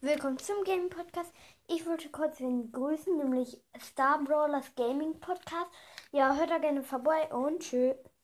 Willkommen zum Gaming Podcast. Ich wollte kurz wen grüßen, nämlich Star Brawlers Gaming Podcast. Ja, hört da gerne vorbei und tschüss.